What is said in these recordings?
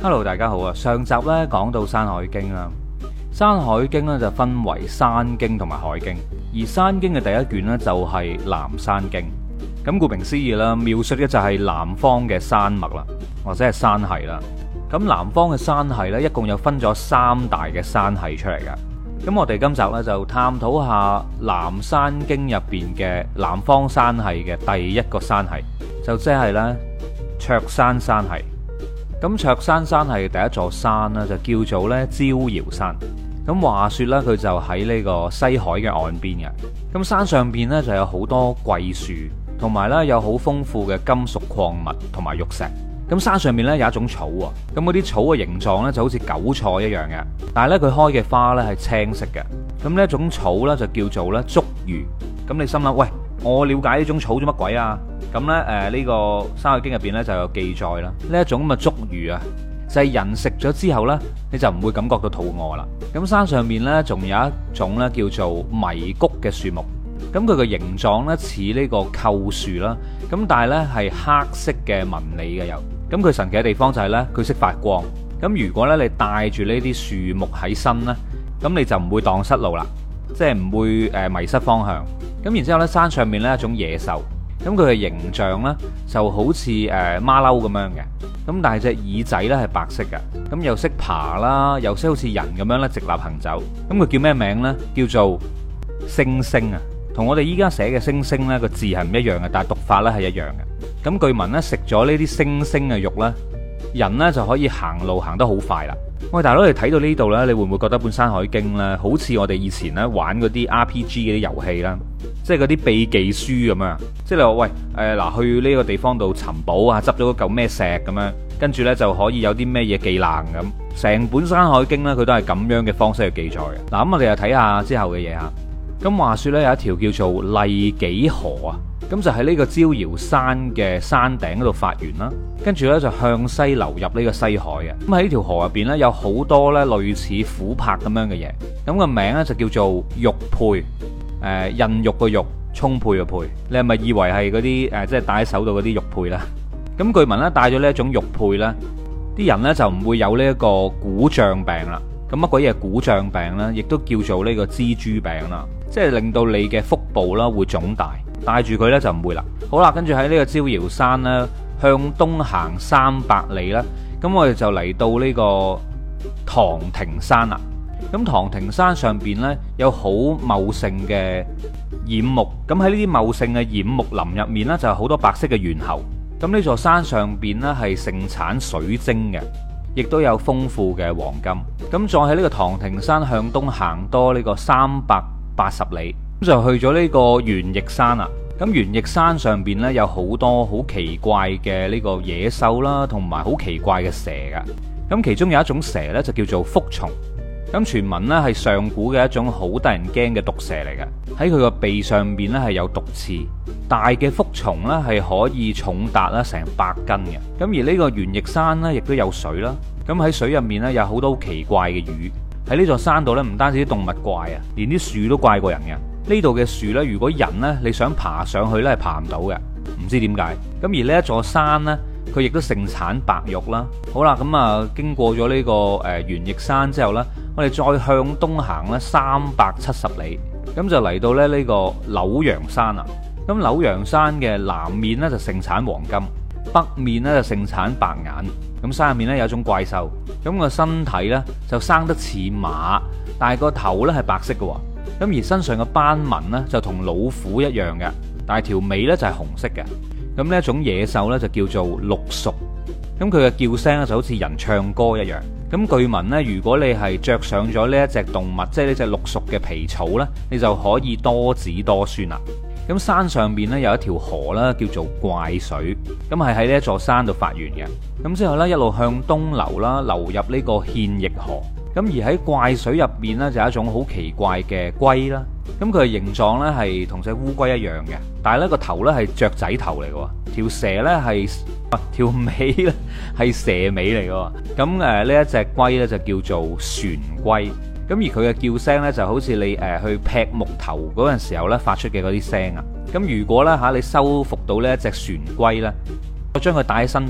Hello，大家好啊！上集咧講到《山海經》啦，《山海經》咧就分為山經同埋海經，而山經嘅第一卷咧就係南山經。咁顧名思義啦，描述嘅就係南方嘅山脈啦，或者係山系啦。咁南方嘅山系咧，一共有分咗三大嘅山系出嚟㗎。咁我哋今集咧就探討下南山經入邊嘅南方山系嘅第一個山系，就即係咧卓山山系。咁卓山山系第一座山呢，就叫做咧招搖山。咁話說咧，佢就喺呢個西海嘅岸邊嘅。咁山上邊呢，就有好多桂樹，同埋咧有好豐富嘅金屬礦物同埋玉石。咁山上面咧有一種草啊，咁嗰啲草嘅形狀咧就好似韭菜一樣嘅，但係咧佢開嘅花咧係青色嘅。咁呢一種草咧就叫做咧竹魚。咁你心諗，喂，我了解呢種草做乜鬼啊？咁咧呢個《山海經》入邊咧就有記載啦。呢一種咁嘅竹魚啊，就係人食咗之後咧，你就唔會感覺到肚餓啦。咁山上面咧仲有一種咧叫做迷谷嘅樹木。咁佢嘅形狀咧似呢個構樹啦，咁但係咧係黑色嘅紋理嘅又。咁佢神奇嘅地方就係咧，佢識發光。咁如果咧你帶住呢啲樹木喺身咧，咁你就唔會蕩失路啦，即係唔會迷失方向。咁然之後咧，山上面咧一種野獸，咁佢嘅形象咧就好似馬騮咁樣嘅，咁但係隻耳仔咧係白色嘅，咁又識爬啦，又識好似人咁樣咧直立行走。咁佢叫咩名咧？叫做猩猩啊，同我哋依家寫嘅猩猩咧個字係唔一樣嘅，但係讀法咧係一樣嘅。咁據聞咧食咗呢啲猩猩嘅肉咧，人咧就可以行路行得好快啦。喂，大佬，你睇到呢度咧，你會唔會覺得本《山海經》咧好似我哋以前咧玩嗰啲 RPG 嗰啲遊戲啦，即係嗰啲秘技書咁樣？即係你話喂嗱，去呢個地方度尋寶啊，執咗嚿咩石咁樣，跟住咧就可以有啲咩嘢技能咁。成本《山海經》咧佢都係咁樣嘅方式去記載嘅。嗱，咁我哋又睇下之後嘅嘢嚇。咁話說咧有一條叫做麗幾河啊。咁就喺呢個招搖山嘅山頂嗰度發源啦，跟住呢就向西流入呢個西海嘅。咁喺呢條河入邊呢，有好多呢類似琥珀咁樣嘅嘢，咁個名呢就叫做玉佩，孕育個玉，充沛個沛。你係咪以為係嗰啲即係戴喺手度嗰啲玉佩啦？咁據聞呢，戴咗呢一種玉佩呢，啲人呢就唔會有呢一個鼓脹病啦。咁乜鬼嘢鼓脹病呢？亦都叫做呢個蜘蛛病啦，即係令到你嘅腹部啦會腫大。帶住佢呢就唔會啦。好啦，跟住喺呢個招搖山呢，向東行300里啦。咁我哋就嚟到呢個唐庭山啦。咁唐庭山上邊呢，有好茂盛嘅偃木。咁喺呢啲茂盛嘅偃木林入面呢，就有好多白色嘅猿猴。咁呢座山上邊呢，係盛產水晶嘅，亦都有豐富嘅黃金。咁再喺呢個唐庭山向東行多呢個380里。咁就去咗呢個玄翼山啦。咁玄翼山上邊呢，有好多好奇怪嘅呢個野獸啦，同埋好奇怪嘅蛇噶。咁其中有一種蛇呢，就叫做蝮蟲。咁傳聞呢，係上古嘅一種好得人驚嘅毒蛇嚟嘅。喺佢個鼻上邊呢，係有毒刺，大嘅蝮蟲呢，係可以重達啦成100斤嘅。咁而呢個玄翼山呢，亦都有水啦。咁喺水入面呢，有好多好奇怪嘅魚。喺呢座山度呢，唔單止啲動物怪啊，連啲樹都怪過人嘅。呢度嘅樹呢，如果人呢，你想爬上去呢，係爬唔到嘅，唔知點解。咁而呢一座山呢，佢亦都盛產白玉啦。好啦，咁啊經過咗呢個玄翼山之後呢，我哋再向東行呢370里，咁就嚟到咧呢個柳陽山啦。咁柳陽山嘅南面呢，就盛產黃金，北面呢，就盛產白眼。咁山入面呢，有一種怪獸，咁個身體呢，就生得似馬，但係個頭呢，係白色嘅。咁而身上嘅斑紋呢，就同老虎一樣嘅，但係條尾呢，就係紅色嘅。咁呢一種野獸呢，就叫做鹿屬。咁佢嘅叫聲呢，就好似人唱歌一樣。咁據聞呢，如果你係着上咗呢一隻動物，即係呢隻鹿屬嘅皮草呢，你就可以多子多孫啦。咁山上邊呢，有一條河啦，叫做怪水。咁係喺呢一座山度發源嘅。咁之後呢，一路向東流啦，流入呢個獻逸河。咁而喺怪水入面呢，就有一種好奇怪嘅龜啦。咁佢嘅形狀呢，係同隻烏龜一樣嘅，但係呢個頭呢，係雀仔頭嚟嘅，條蛇呢，係條尾呢，係蛇尾嚟嘅。咁呢一隻龜呢，就叫做玄龜。咁而佢嘅叫聲呢，就好似你去劈木頭嗰陣時候呢發出嘅嗰啲聲啊。咁如果呢，你收服到呢一隻玄龜呢，我將佢帶喺身度呢，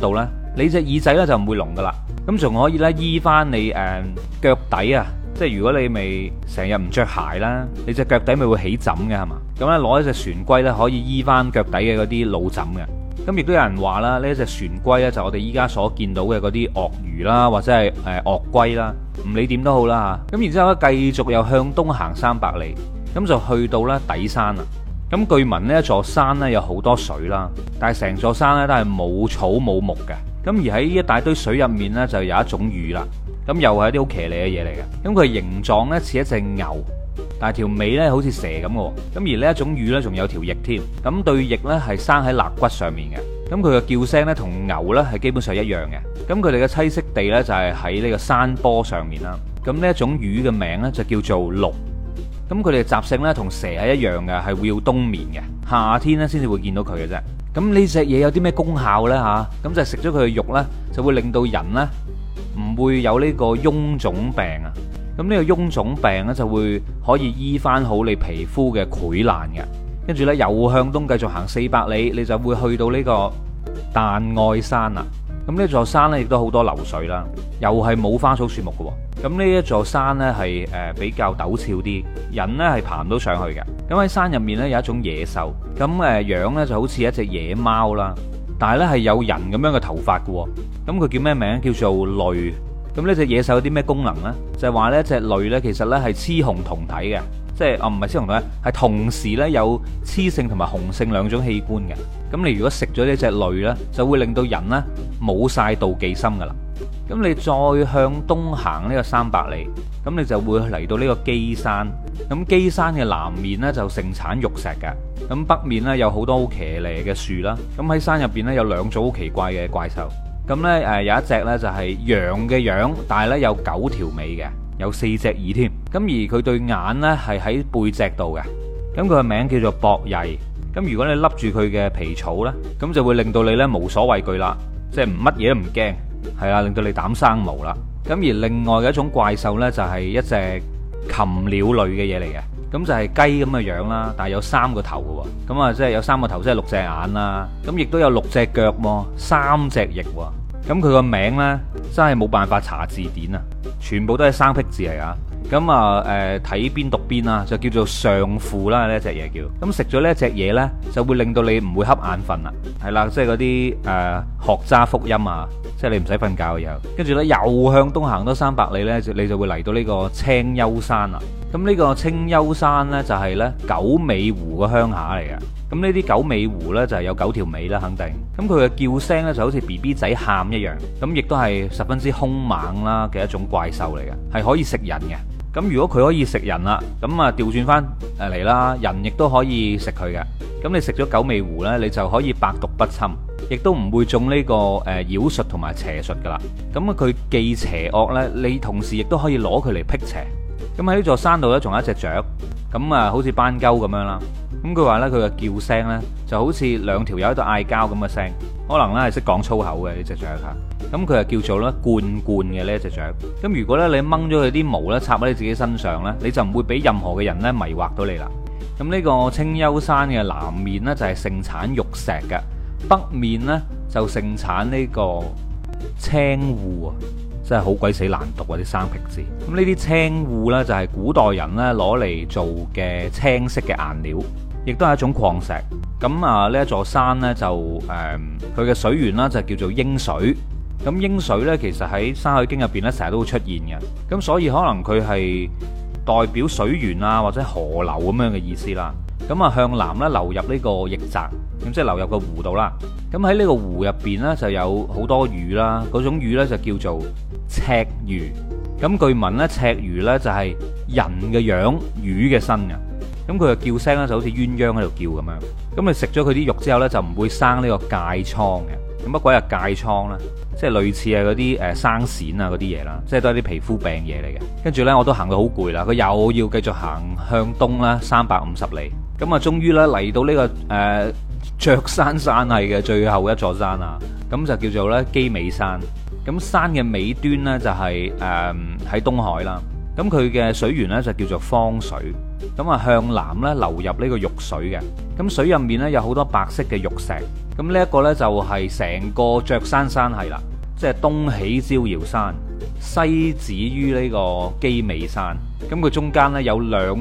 你隻耳仔咧就唔會聾噶啦。咁仲可以咧醫翻你腳底啊，即係如果你咪成日唔着鞋啦，你隻腳底咪會起疹嘅係嘛？咁咧攞一隻船龜咧可以醫翻腳底嘅嗰啲老疹嘅。咁亦都有人話啦，呢一隻船龜咧就我哋依家所見到嘅嗰啲鱷魚啦，或者係鱷龜啦，唔理點都好啦嚇。咁然之後咧繼續又向東行300里，咁就去到咧底山啦。咁據聞呢一座山咧有好多水啦，但係成座山咧都係冇草冇木嘅。咁而喺一大堆水入面咧就有一種魚啦。咁又係一啲好騎呢嘅嘢嚟嘅。咁佢形狀咧似一隻牛，但係條尾咧好似蛇咁嘅。咁而呢一種魚咧仲有條翼添。咁對翼咧係生喺肋骨上面嘅。咁佢嘅叫聲咧同牛咧係基本上一樣嘅。咁佢哋嘅棲息地咧就係喺呢個山坡上面啦。咁呢一種魚嘅名咧就叫做鷺。咁佢哋嘅習性咧同蛇係一樣嘅，係會要冬眠嘅，夏天咧先至會見到佢嘅啫。咁呢隻嘢有啲咩功效呢？嚇？咁就係食咗佢嘅肉呢，就會令到人呢唔會有呢個臃腫病啊。咁呢個臃腫病呢，就會可以醫翻好你皮膚嘅潰爛嘅。跟住呢，又向東繼續行400里，你就會去到呢個彈愛山啦。咁呢座山呢，亦都好多流水啦，又係冇花草樹木嘅。咁呢一座山呢，係比較陡峭啲，人呢係爬唔到上去嘅。咁喺山入面呢，有一種野獸，咁樣呢就好似一隻野貓啦，但係呢係有人咁樣嘅頭髮嘅。咁佢叫咩名？叫做騾。咁呢隻野獸有啲咩功能呢？就係話呢隻騾呢，其實呢係雌雄同體嘅，即係唔係雌雄同體，係同時呢有雌性同埋雄性兩種器官嘅。咁你如果食咗呢隻騾呢，就會令到人呢冇晒妒忌心噶啦。咁你再向東行呢個300里，咁你就會嚟到呢個基山。咁基山嘅南面呢，就盛產玉石嘅，咁北面呢，有好多好騎呢嘅樹啦。咁喺山入邊呢，有2種好奇怪嘅怪獸。咁呢，有一隻呢，就係羊嘅樣，但係呢，有9條尾嘅，有4隻耳添。咁而佢對眼呢，係喺背脊度嘅。咁佢嘅名叫做博曳。咁如果你笠住佢嘅皮草呢，咁就會令到你呢無所畏懼啦，即係乜嘢都唔驚。係啦，令到你膽生毛啦。咁而另外嘅一種怪獸呢，就係一隻禽鳥類嘅嘢嚟嘅。咁就係雞咁嘅樣啦，但係有3個頭嘅喎。咁啊，即係有3個頭，即係6隻眼啦。咁亦都有6隻腳喎，3隻翼喎。咁佢個名呢，真係冇辦法查字典啊，全部都係生僻字嚟啊。咁啊，睇邊讀邊啦，就叫做上父啦，呢一隻嘢叫。咁食咗呢一隻嘢呢，就會令到你唔會瞌眼瞓啦。係啦，即係嗰啲學渣福音啊，即係你唔使瞓覺嘅又。跟住呢，又向東行多300里呢，你就會嚟到呢個青丘山啦。咁呢個青丘山呢，就係呢九尾狐個鄉下嚟嘅。咁呢啲九尾狐呢，就係有9條尾啦，肯定。咁佢嘅叫聲呢，就好似 BB 仔喊一樣。咁亦都係十分之兇猛啦嘅一種怪獸嚟嘅，係可以食人嘅。咁如果佢可以食人啦，咁啊調轉翻嚟啦，人亦都可以食佢嘅。咁你食咗九尾狐呢，你就可以百毒不侵，亦都唔會中呢個妖術同埋邪術噶啦。咁啊佢既邪惡呢，你同時亦都可以攞佢嚟辟邪。咁喺呢座山度呢，仲有一隻雀，咁啊好似斑鳩咁樣啦。咁佢話呢，佢嘅叫聲呢，就好似2條友喺度嗌交咁嘅聲，可能呢係識講粗口嘅呢隻雀嚇。咁佢係叫做咧罐罐嘅呢一隻雀。咁如果咧你掹咗佢啲毛咧插喺你自己身上咧，你就唔會俾任何嘅人咧迷惑到你啦。咁呢個青丘山嘅南面咧就係盛產玉石嘅，北面咧就盛產呢個青烏啊，真係好鬼死難讀啊啲生僻字。咁呢啲青烏咧就係古代人咧攞嚟做嘅青色嘅顏料，亦都係一種礦石。咁啊呢一座山咧就佢嘅水源啦就叫做鷹水。咁鷹水呢，其實喺《山海經》入邊呢，成日都會出現嘅。咁所以可能佢係代表水源啊，或者河流咁樣嘅意思啦。咁啊，向南呢，流入呢個奕澤，咁即係流入個湖度啦。咁喺呢個湖入邊呢，就有好多魚啦。嗰種魚呢，就叫做赤魚。咁據聞呢，赤魚呢，就係人嘅樣，魚嘅身嘅。咁佢嘅叫聲呢，就好似鴛鴦喺度叫咁樣。咁你食咗佢啲肉之後呢，就唔會生呢個疥瘡嘅。咁乜鬼係疥瘡啦？即係類似係嗰啲生癬啊嗰啲嘢啦，即係都係啲皮膚病嘢嚟嘅。跟住呢，我都行到好攰啦，佢又要繼續行向東啦350里。咁啊，終於呢嚟到呢個雀山山系嘅最後一座山啊，咁就叫做呢基尾山。咁山嘅尾端呢，就係喺東海啦。咁佢嘅水源呢，就叫做方水。 咁啊向南咧流入呢個玉水嘅。咁水入面咧有好多白色嘅玉石。咁呢一個咧就係成個雀山山系啦，即係東起招搖山，西止於呢個基尾山。咁佢中間咧有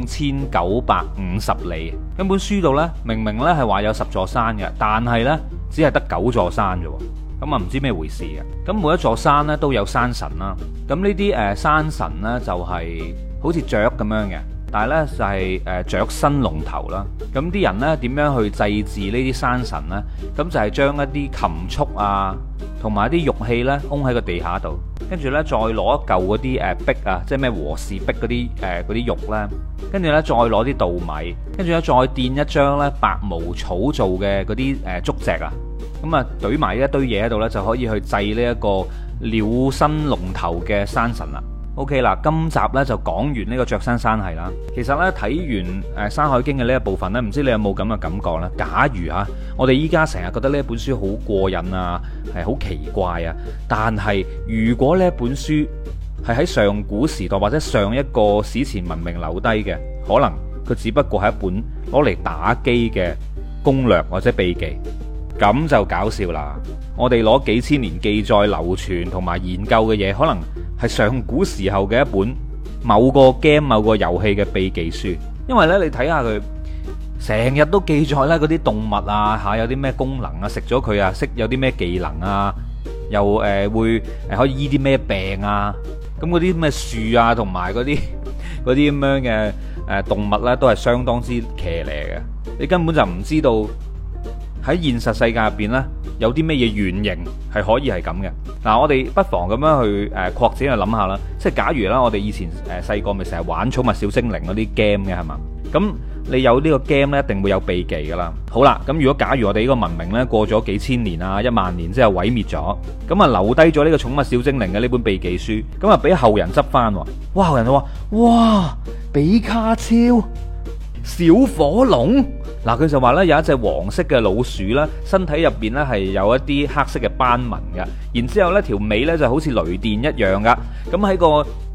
2950里。咁本書度咧明明咧係話有10座山嘅，但係咧只係得9座山啫。咁啊唔知咩回事嘅。咁每一座山咧都有山神啦。咁呢啲山神咧就係好似雀咁樣嘅，但係咧就係雀身龍頭啦。咁啲人咧點樣去祭祀呢啲山神咧？咁就係將一啲禽畜啊，同埋一啲玉器咧，封喺個地下度，跟住咧再攞一嚿嗰啲璧啊，即係咩和氏璧嗰啲嗰啲玉咧，跟住咧再攞啲稻米，跟住咧再墊一張咧白毛草做嘅嗰啲竹席啊，咁啊堆埋一堆嘢喺度咧，就可以去祭呢一個鳥身龍頭嘅山神啦。OK 啦，今集咧就講完呢個雀山山系啦。其實咧睇完《山海經》嘅呢一部分咧，唔知你有冇咁嘅感覺咧？假如我哋依家成日覺得呢一本書好過癮啊，係好奇怪啊，但係如果呢一本書係喺上古時代或者上一個史前文明留低嘅，可能佢只不過係一本攞嚟打機嘅攻略或者秘技，咁就搞笑啦。我哋攞幾千年記載流傳同埋研究嘅嘢，可能係上古時候嘅一本某個 game 某個遊戲嘅秘技書。因為呢，你睇下佢成日都記載呢嗰啲動物啊有啲咩功能啊，食咗佢啊識有啲咩技能啊，又會可以醫啲咩病啊。咁嗰啲咩樹啊同埋嗰啲咁樣嘅動物呢，都係相當之騎呢嘅。你根本就唔知道喺現實世界入邊呢，有啲咩嘢原型係可以係咁嘅。嗱，我哋不妨咁樣去擴展去諗下啦。即係假如啦，我哋以前細個咪成日玩寵物小精靈嗰啲 game 嘅係嘛？咁你有呢個 game 呢，一定會有秘技噶啦。好啦，咁如果假如我哋呢個文明呢，過咗幾千年啊10000年之後毀滅咗，咁啊留低咗呢個寵物小精靈嘅呢本秘技書，咁啊俾後人執翻。哇！後人就話：哇，比卡超、小火龍。嗱，佢就話咧有一隻黃色嘅老鼠啦，身體入邊咧係有一啲黑色嘅斑紋嘅，然之後咧條尾咧就好似雷電一樣噶。咁喺個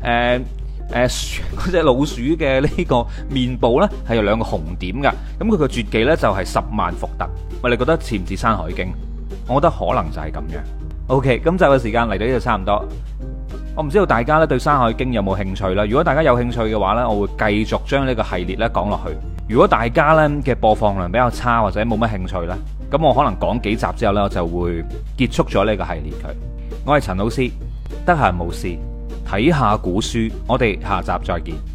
嗰隻老鼠嘅呢個面部咧係有2個紅點噶。咁佢個絕技咧就係10萬伏特。喂，你覺得似唔似《山海經》？我覺得可能就係咁樣。OK，今集嘅時間嚟到呢度差唔多。我唔知道大家咧對《山海經》有冇興趣啦。如果大家有興趣嘅話咧，我會繼續將呢個系列咧講落去。如果大家咧嘅播放量比較差或者冇乜興趣咧，咁我可能講幾集之後咧，我就會結束咗呢個系列佢。我係陳老師，得閒無事睇下古書，我哋下集再見。